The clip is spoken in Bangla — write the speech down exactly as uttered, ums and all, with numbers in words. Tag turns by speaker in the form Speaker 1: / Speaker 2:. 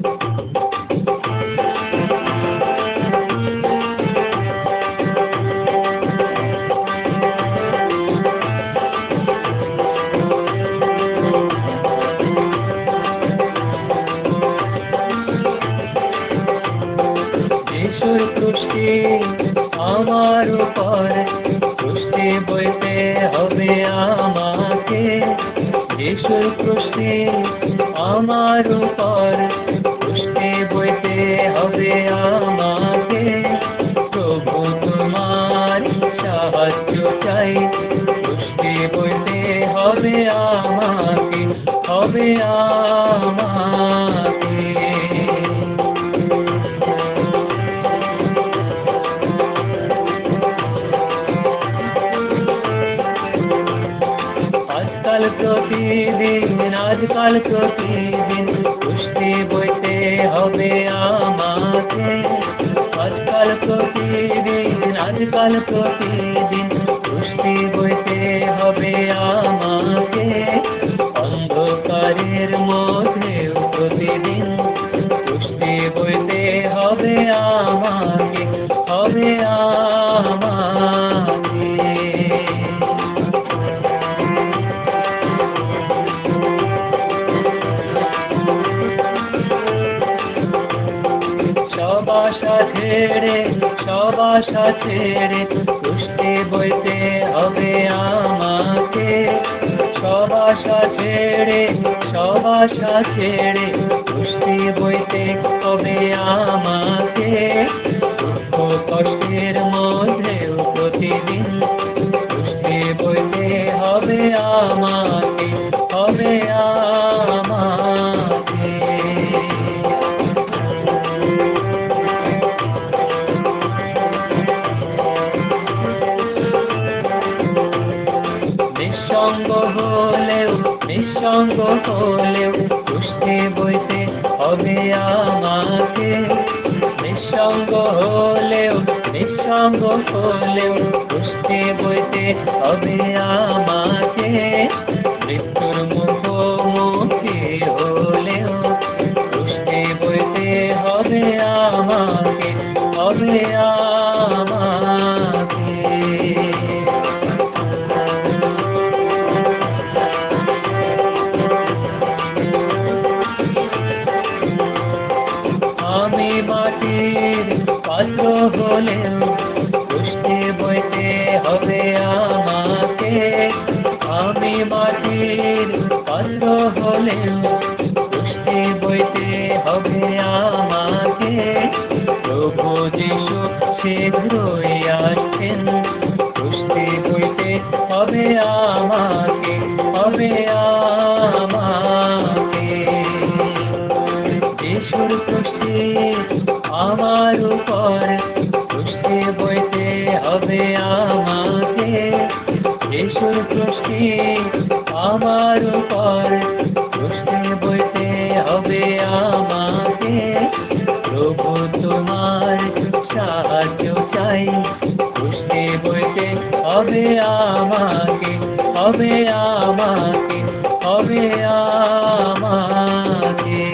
Speaker 1: আমার উপর কৃষ্টি বইতে হবে আমাকে, যিশুর কৃষ্টি আমার উপর কৃষ্টি বইতে হবে আমাকে। প্রভু তোমার সাহায্য চাই, কৃষ্টি বইতে হবে আমাকে, হবে আমাকে। আজকাল প্রতিদিন আজকাল প্রতিদিন কৃষ্টি বইতে হবে আমাকে, আজকাল প্রতিদিন আজকাল প্রতিদিন কৃষ্টি বইতে হবে আমাকে। অন্ধকারের মধ্যেও প্রতিদিন কৃষ্টি বইতে হবে আমাকে, হবে আমাকে। সব আশা ছেড়ে সব আশা ছেড়ে কৃষ্টি বইতে হবে আমাকে, সব আশা ছেড়ে সব আশা ছেড়ে কৃষ্টি বইতে হবে আমাকে। দুঃখ কষ্টের মধ্যেও প্রতিদিন কৃষ্টি বইতে হবে আমাকে, হবে আমাকে। নিঃসঙ্গ হলেও নিঃসঙ্গ হলেও কৃষ্টি বইতে হবে আমাকে, নিঃসঙ্গ হলেও নিঃসঙ্গ হলেও কৃষ্টি বইতে হবে আমাকে। মৃত্যুর মুখোমুখি হলেও কৃষ্টি বইতে হবে আমাকে, হবে আমাকে। আমি মাটির পাত্র হলেও কৃষ্টি বইতে হবে আমাকে, আমি মাটির পাত্র হলেও কৃষ্টি বইতে হবে আমাকে। প্রভু যিশু শীঘ্রই আসছেন, কৃষ্টি বইতে হবে আমাকে, হবে আমাকে। যিশুর কৃষ্টি আমার উপর কৃষ্টি বইতে হবে আমাকে, যিশুর কৃষ্টি আমার উপর কৃষ্টি বইতে হবে আমাকে। প্রভু তোমার সাহায্য চাই, কৃষ্টি বইতে হবে আমাকে, হবে আমাকে, হবে আমাকে।